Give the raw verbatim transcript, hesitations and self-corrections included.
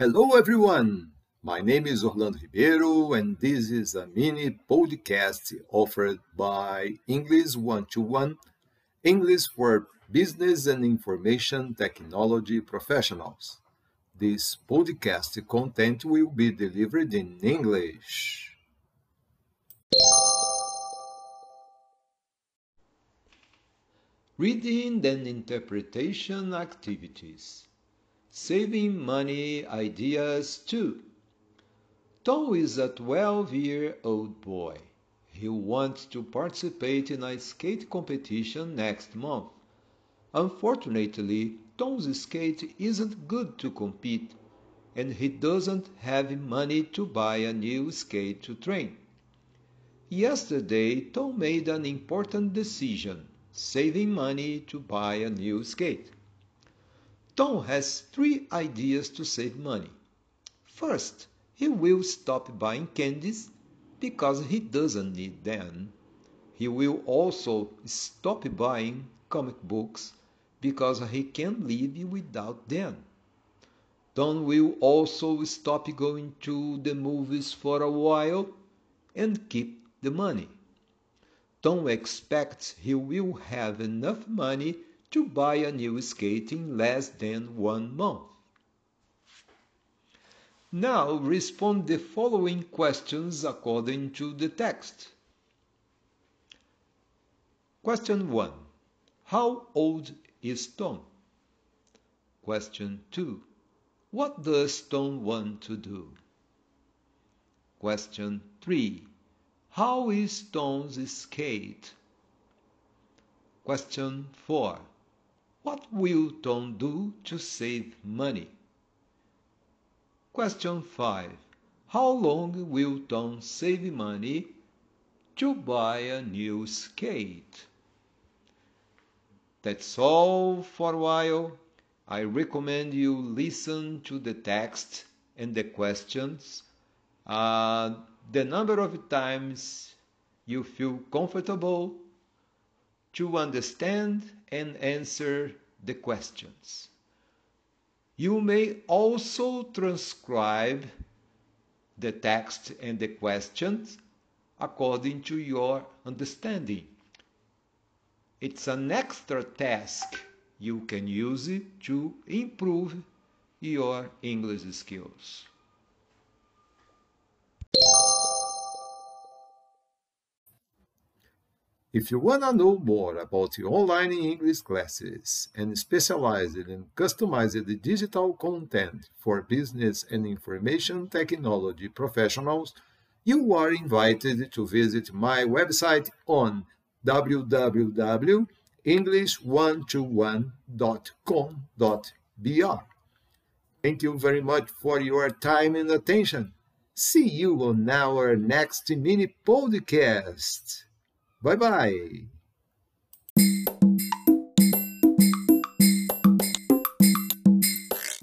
Hello everyone, my name is Orlando Ribeiro and this is a mini podcast offered by English one to one, English for business and information technology professionals. This podcast content will be delivered in English. Reading and interpretation activities. Saving money ideas two. Tom is a twelve-year-old boy. He wants to participate in a skate competition next month. Unfortunately, Tom's skate isn't good to compete, and he doesn't have money to buy a new skate to train. Yesterday, Tom made an important decision, saving money to buy a new skate. Tom has three ideas to save money. First, he will stop buying candies because he doesn't need them. He will also stop buying comic books because he can't live without them. Tom will also stop going to the movies for a while and keep the money. Tom expects he will have enough money to buy a new skate in less than one month. Now respond the following questions according to the text. Question one. How old is Tom? Question two. What does Tom want to do? Question three. How is Tom's skate? Question four. What will Tom do to save money? Question five. How long will Tom save money to buy a new skate? That's all for a while. I recommend you listen to the text and the questions. Uh, the number of times you feel comfortable to understand and answer the questions. You may also transcribe the text and the questions according to your understanding. It's an extra task you can use to improve your English skills. If you want to know more about online English classes and specialize in customized digital content for business and information technology professionals, you are invited to visit my website on w w w dot english one two one dot com dot b r. Thank you very much for your time and attention. See you on our next mini podcast. Bye-bye.